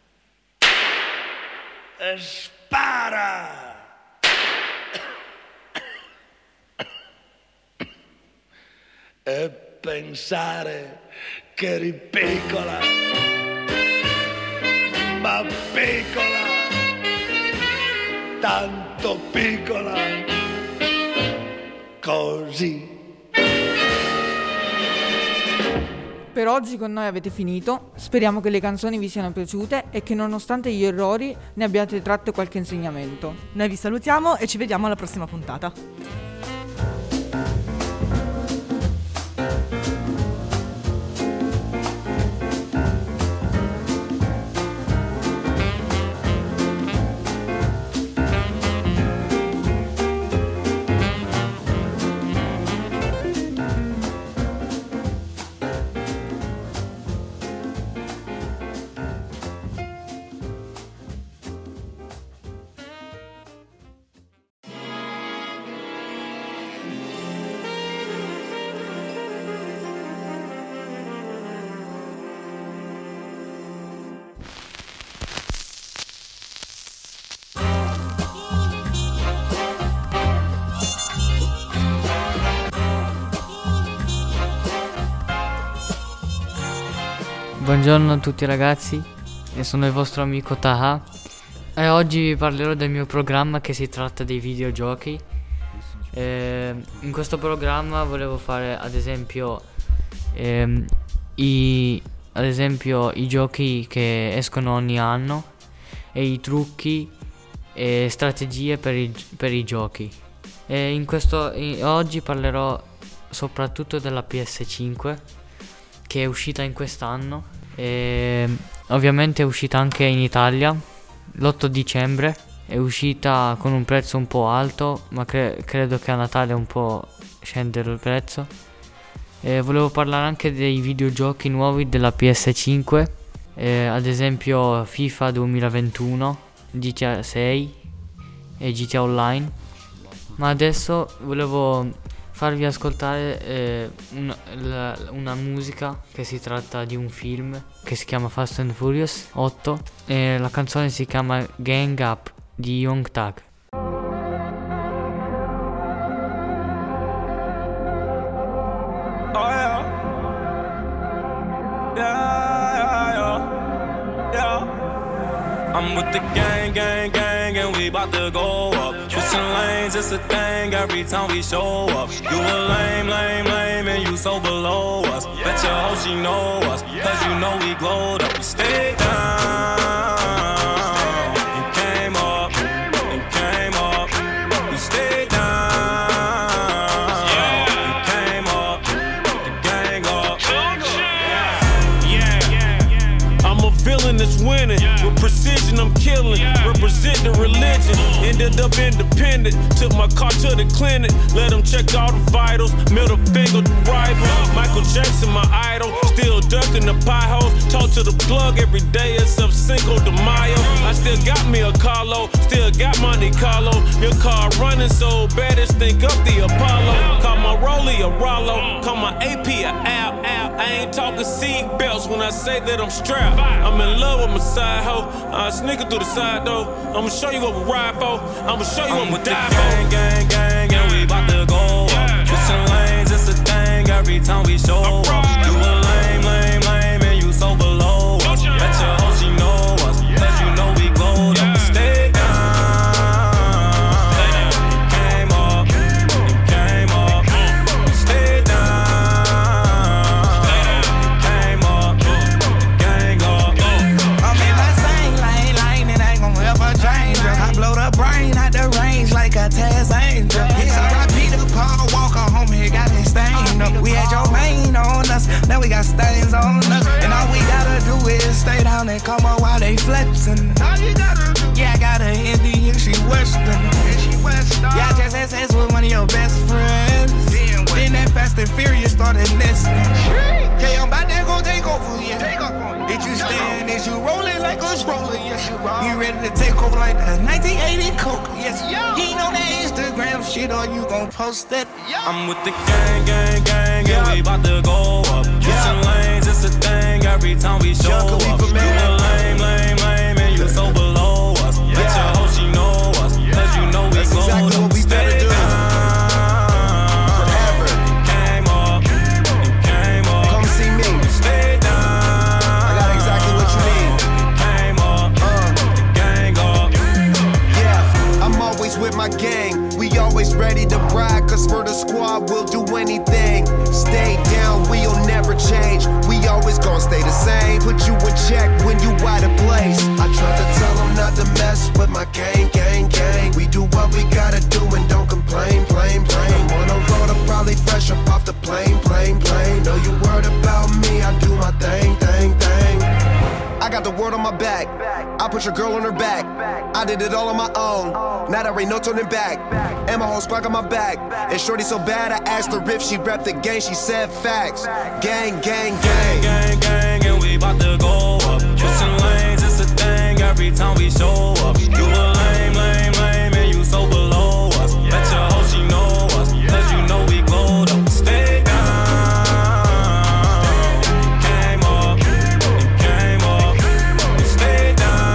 Spara. E pensare che eri piccola, ma piccola, tanto piccola, così. Per oggi con noi avete finito, speriamo che le canzoni vi siano piaciute e che nonostante gli errori ne abbiate tratto qualche insegnamento. Noi vi salutiamo e ci vediamo alla prossima puntata. Buongiorno a tutti ragazzi, io sono il vostro amico Taha e oggi vi parlerò del mio programma che si tratta dei videogiochi. In questo programma volevo fare ad esempio i giochi che escono ogni anno e i trucchi e strategie per i giochi. Oggi parlerò soprattutto della PS5 che è uscita in quest'anno e ovviamente è uscita anche in Italia l'8 dicembre. È uscita con un prezzo un po' alto, ma credo che a Natale un po' scendere il prezzo. Volevo parlare anche dei videogiochi nuovi della PS5, ad esempio FIFA 2021, GTA 6 e GTA Online. Ma adesso volevo farvi ascoltare una musica che si tratta di un film che si chiama Fast and Furious 8 e la canzone si chiama Gang Up di Young Thug. I'm with the gang, and we bout to go up. Switching lanes, it's a thing every time we show up. You a lame, and you so below us. Bet your hoe she know us, cause you know we glowed up. but stay down. And came up, and came up. We stayed down. And came up, the gang up. Yeah, I'm a villain that's winning. With precision, I'm killing. Represent the religion. Ended up independent. Took my car to the clinic. Let them check all the vitals. Middle finger to rival. Michael Jackson, my idol. Still ducking the pie holes. Talk to the plug every day except Cinco de Mayo. I still got me a Carlo. Still got Monte Carlo. Your car running so bad it's think up the Apollo. Call my Rollie a Rollo. Call my AP a Al. I ain't talking seat belts when I say that I'm strapped. I'm in love with my side hoe. I sneak it through the side door. I'ma show you what we ride for. I'ma show you what we die for. Gang, gang, gang, and we bout to go up. Switching lanes, it's a thing every time we show up. You a lame, lame, lame, and you so below us. Bet your hoe she know us, cause you know we glowed up. Stay down. Came up, came up. Stay down. Came up, gang up. I'm in my same lane, it ain't gon' ever change. I blow the brain out the range like a Taz Angel. It's R.I.P. to Paul Walker, homie, it got me stained up. We had your main on us, now we got stains on us. And all we gotta do is stay down and come up while they flexing. Yeah, I got an Indian, she Western. Yeah, I just had sex with one of your best friends. Then that Fast and Furious started nesting. Okay, I'm about to go take over, yeah. Did you stand? Is you rolling like a stroller? Yes, you ready to take over like the 1980 Coke? Yes, you ain't on that Instagram shit or you gon' post it. I'm with the gang, gang, gang, and we bout to go up. Switching lanes, it's a thing every time we show up. You a lame, lame, lame, and you so below us. Bet your hoe she know us, cause you know we glowed up. Exactly what we better do. Forever. Came up, and came up. Come see me. Stay down. I got exactly what you need. Came up, the gang up. Yeah, I'm always with my gang. We always ready to ride, cause for the squad we'll do anything. Stay down, we'll never change. We always gon' stay the same. Put you in check when you out of place. I tried to tell them not to mess with my gang, gang, gang. We do what we gotta do and don't complain, plain, plain. I'm on the road, I'm probably fresh up off the plane, plane, plane. Know you worried about me, I do my thing, thing, thing. I got the word on my back. I put your girl on her back. I did it all on my own. Now there ain't no turning back. And my whole squad got my back. And shorty so bad, I asked her if she rep the gang. She said facts. Gang, gang, gang. Gang, gang, and we bout to go up. Switching lanes, it's a thing every time we show up. You a lame, lame, lame, and you so below us. Bet your hoe she know us, cause you know we glowed up. Stay down. Came up, and came up. Stay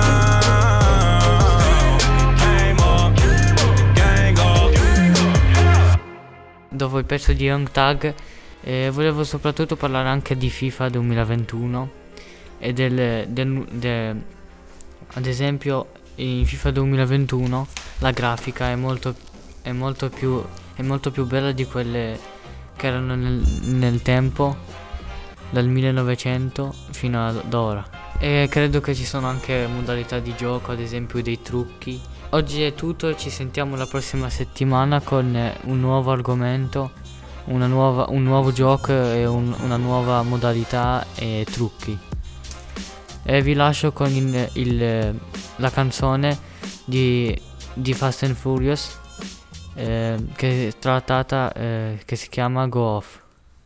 down. Came up, gang up. Dopo il pezzo di Young Thug volevo soprattutto parlare anche di FIFA 2021 e ad esempio in FIFA 2021 la grafica è molto più bella di quelle che erano nel tempo, dal 1900 fino ad ora. E credo che ci sono anche modalità di gioco, ad esempio dei trucchi. Oggi è tutto, ci sentiamo la prossima settimana con un nuovo argomento, un nuovo gioco e una nuova modalità e trucchi. E vi lascio con la canzone di Fast and Furious che è trattata, che si chiama Go Off.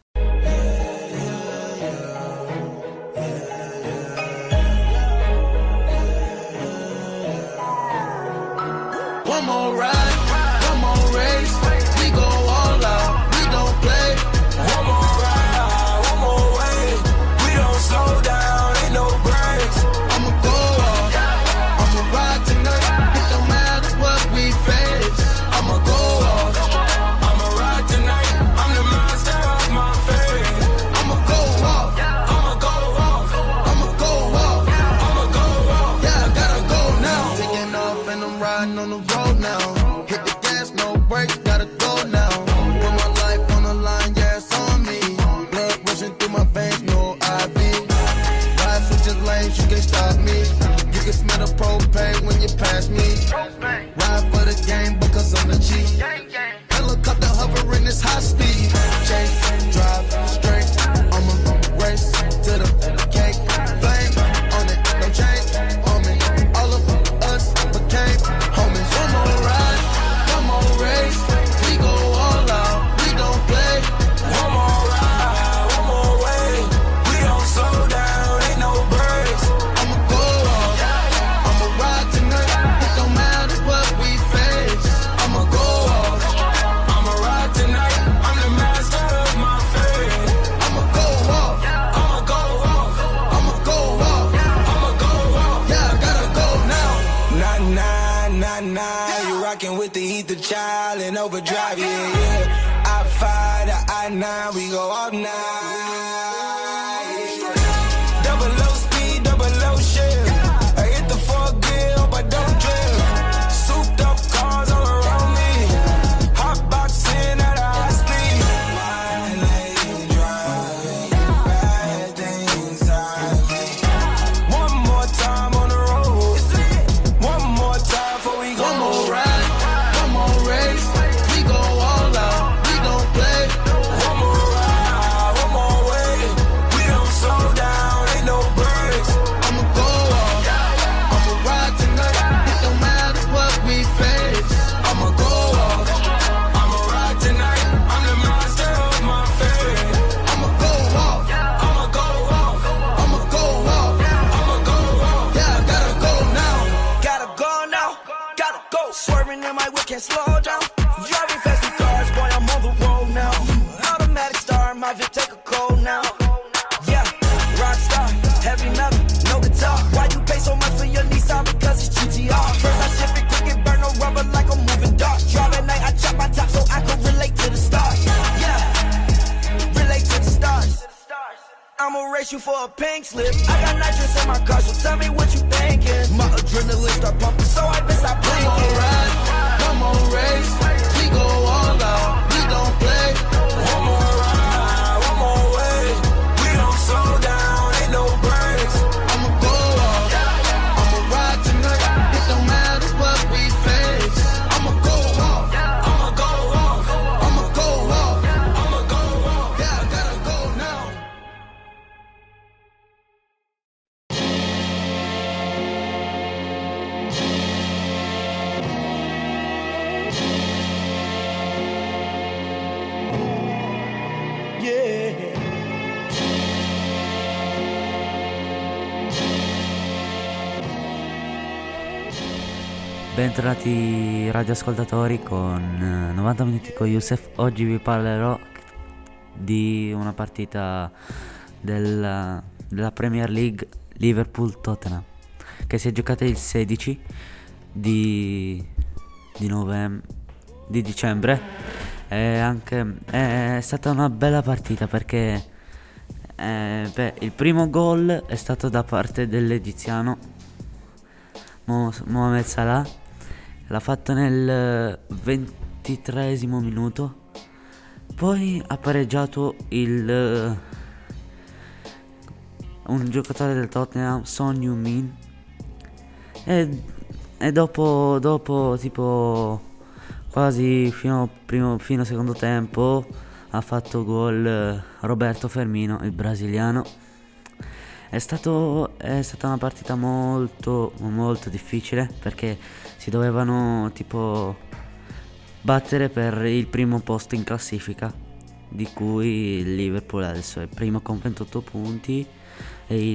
One more ride, one more race. We go all out, we don't play. One more ride, one more way. We don't slow down, ain't no breaks. I'ma go off, I'ma ride tonight. It don't matter what we face. I'ma go off, I'ma ride tonight. I'm the master of my fate. I'ma go off, I'ma go off, I'ma go off, I'ma go off. Yeah, I gotta go now. Taking off and I'm riding on the road now. to eat the child in overdrive, yeah. I-5 to I-9, we go all night. Double low speed, double low shift. I hit the 4th gear, hope I don't drift. Souped up cars all around me. Hot boxing at a high speed. Wine lane driving, bad things on me. One more time on the road. One more time before we go. One more ride, one more race. We go all out, we don't play. One more ride, one more way. We don't slow down, ain't no breaks. I'ma go off, I'ma ride tonight. It don't matter what we face. I'ma go off, I'ma ride tonight. I'm the master of my fate. I'ma go off, I'ma go off, I'ma go off. I'ma go off. Yeah, I gotta go now. Gotta go now, gotta go. Swerving in my whip, can't slow down. Driving fast with cars, boy, I'm on the road now. Automatic star, my Vic take a cold now. Yeah, rock star, heavy metal, no guitar. Why you pay so much for your Nissan? Because it's GTR. First I shift it quick and burn no rubber like a moving dart. Drive at night, I chop my top so I can relate to the stars. Yeah, relate to the stars. I'ma race you for a pink slip. I got nitrous in my car, so tell me what you thinking. My adrenaline start pumping, so I best stop One blinking. more ride, one more race. We go all out, we don't play. One more ride, one more way. We don't slow down, ain't no breaks. I'ma go off, I'ma ride tonight. It don't matter what we face. I'ma go off, I'ma go off, I'ma go off. I'ma go off. Yeah, I gotta go now. Bentornati radioascoltatori con 90 minuti con Youssef. Oggi vi parlerò di una partita della Premier League Liverpool-Tottenham che si è giocata il 16 di dicembre. È stata una bella partita perché il primo gol è stato da parte dell'egiziano Mohamed Salah. L'ha fatto nel 23esimo minuto. Poi ha pareggiato un giocatore del Tottenham, Son Heung-min, e dopo tipo quasi fino secondo tempo ha fatto gol Roberto Firmino, il brasiliano. È stata una partita molto molto difficile perché si dovevano tipo battere per il primo posto in classifica, di cui il Liverpool adesso è primo con 28 punti e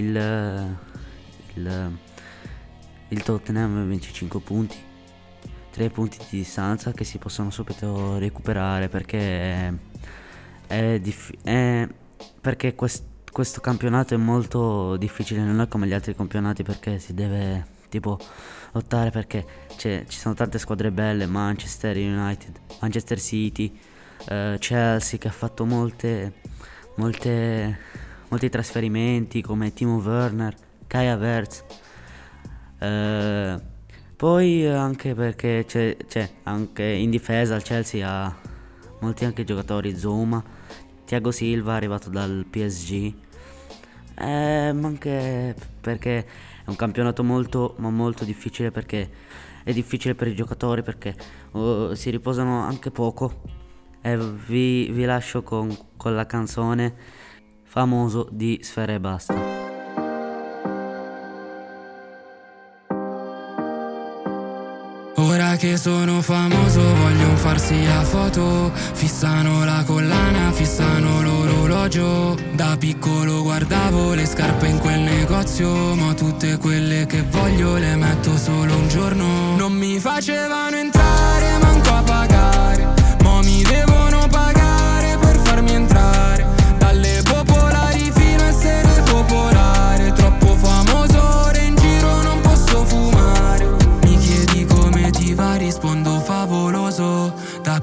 il Tottenham 25 punti, 3 punti di distanza che si possono subito recuperare perché perché questo campionato è molto difficile, non è come gli altri campionati perché si deve tipo lottare, perché ci sono tante squadre belle: Manchester United, Manchester City, Chelsea, che ha fatto molti trasferimenti come Timo Werner, Kai Havertz, poi anche perché c'è anche in difesa il Chelsea ha molti anche giocatori: Zouma, Thiago Silva arrivato dal PSG, ma anche perché è un campionato molto ma molto difficile, perché è difficile per i giocatori perché si riposano anche poco. E vi lascio con la canzone Famoso di Sfera Ebbasta. Ora che sono famoso vogliono farsi la foto, fissano la collana, fissano l'orologio. Da piccolo guardavo le scarpe in quel negozio, ma tutte quelle che voglio le metto solo un giorno. Non mi facevano entrare, manco a pagare, mo mi devono pagare per farmi entrare. Dalle popolari fino a essere popolare, troppo famoso ora in giro non posso fumare. Mi chiedi come ti va, rispondo favolo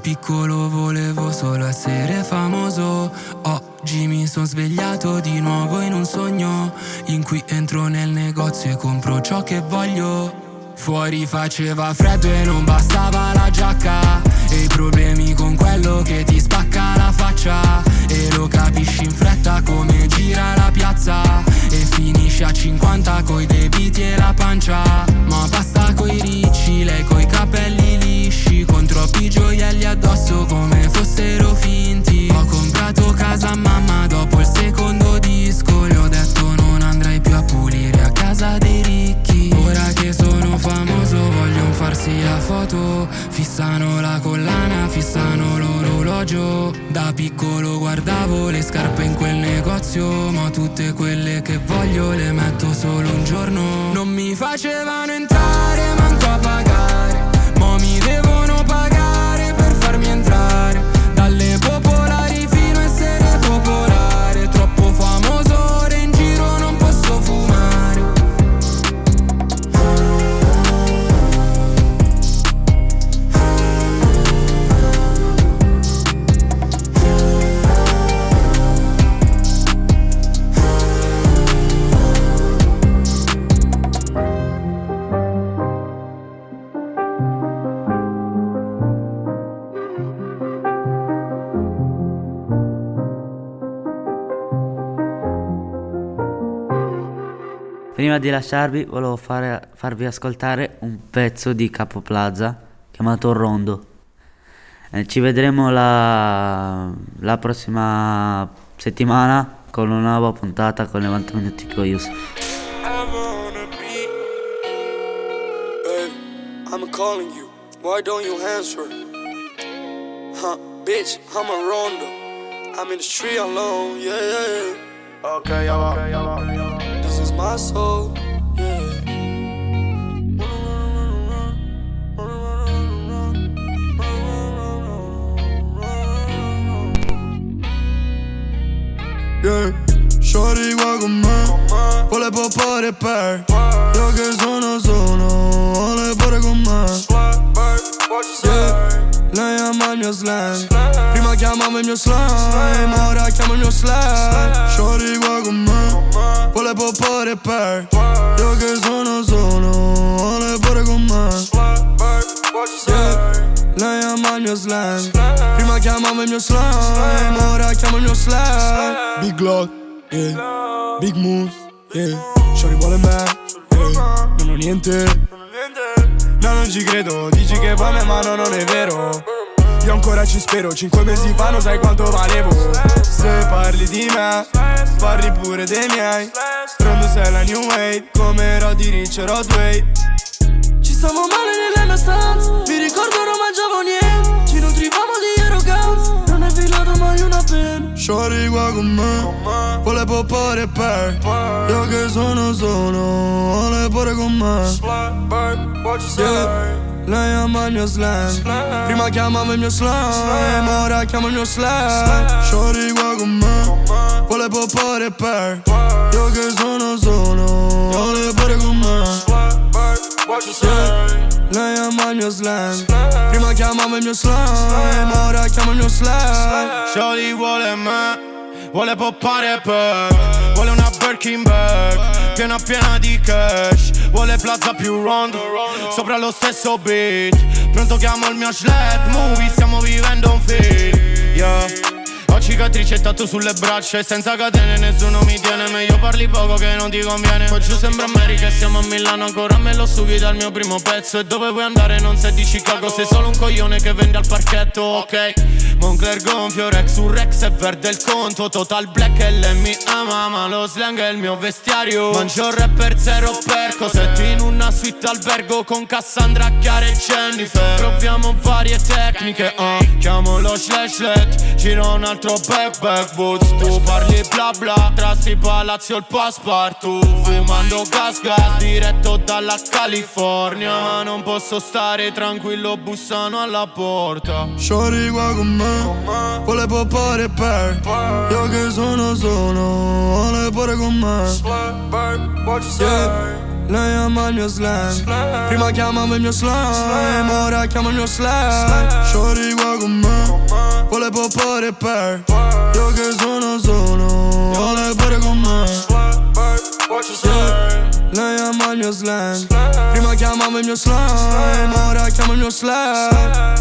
piccolo volevo solo essere famoso. Oggi mi sono svegliato di nuovo in un sogno in cui entro nel negozio e compro ciò che voglio. Fuori faceva freddo e non bastava la giacca, e i problemi con quello che ti spacca la faccia. E lo capisci in fretta come gira la piazza, e finisci a 50 coi debiti e la pancia. Ma basta coi ricci, lei coi capelli lisci, con troppi gioielli addosso come fossero finti. Ho comprato casa a mamma dopo il secondo disco, le ho detto non andrai più a pulire a casa dei ricchi. Ora che sono famoso vogliono farsi la foto, fissano la collana, fissano l'orologio. Da piccolo guardavo le scarpe in quel negozio, ma tutte quelle che voglio le metto solo un giorno. Non mi facevano entrare, manco a pagare, mo mi devono pagare per farmi entrare. Dalle popolari fino a essere popolare, troppo famoso ora in giro non posso fumare. Prima di lasciarvi volevo farvi ascoltare un pezzo di Capo Plaza chiamato Rondo. Ci vedremo la prossima settimana con una nuova puntata con 90 minuti con Yusuf. I'm calling you, why don't you answer? Bitch, I'm a Rondo, I'm in the street alone, yeah. Okay, this is my soul, yeah. Yeah, shorty qua con me, vuole poppare per io che sono solo, vuole pure con me. Yeah, lei ama il mio slang, prima chiamava il mio slime, ora chiamo il mio slang. Shorty qua con me, vuole poppare per io che sono solo, vuole pure con me. Yeah, lei ama il mio slang, prima chiamava il mio slime, ora chiamo il mio slang. Big Glock, yeah, Big Moves, yeah. Shorty vuole me, yeah. Non ho niente, no non ci credo, dici che vuoi me ma no, non è vero. Io ancora ci spero, 5 mesi fa non sai quanto valevo. Se parli di me, parli pure dei miei. Rondo sei la new wave, come Roddy Ricch e Rodway. Ci stavo male nella mia stanza, mi ricordo non mangiavo niente. Ci nutrivamo di arroganza, non è filato mai una penna. Shorty qua con me, vuole poppare per io che sono solo, vuole pure con me. Yeah, lei ama il mio slang, prima chiamava il mio slime, ora chiamo il mio slang. Shorty qua con me, vuole poppare per io che sono solo, vuole pure con me. Yeah, lei ama il mio slang, prima chiamava il mio slime, ora chiamo il mio slang. Shorty vuole me, vuole poppare per, vuole una Birkin bag piena piena di cash, vuole Plaza più Rondo, sopra lo stesso beat. Pronto chiamo il mio sled, movie, stiamo vivendo un film, yeah. Ho cicatrici e tatto sulle braccia e senza catene nessuno mi tiene. Meglio parli poco che non ti conviene. Poi giù sembra America e siamo a Milano, ancora me lo studi dal mio primo pezzo. E dove vuoi andare non sei di Chicago, sei solo un coglione che vende al parchetto, ok. Moncler gonfio, Rex su Rex e verde il conto. Total black e lei mi ama, ma lo slang è il mio vestiario. Mangio rapper zero per cosetti in una suite albergo con Cassandra, Chiara e Jennifer. Proviamo varie tecniche, chiamo lo slashlet, giro un altro back boots. Tu parli bla bla, trasti palazzo il passepartout. Fumando gas diretto dalla California, ma non posso stare tranquillo, bussano alla porta. Shorty qua con me, vuole poppare per io che sono solo, vuole pure con me. Yeah, lei ama il mio slang, prima chiamava il mio slime, ora chiamo il mio slang. Shorty qua con me, vuole poppare per io che sono solo, vuole pure con me. Yeah. Lei ama il mio slang, prima chiamavo il mio slime, ora chiamo il mio slang.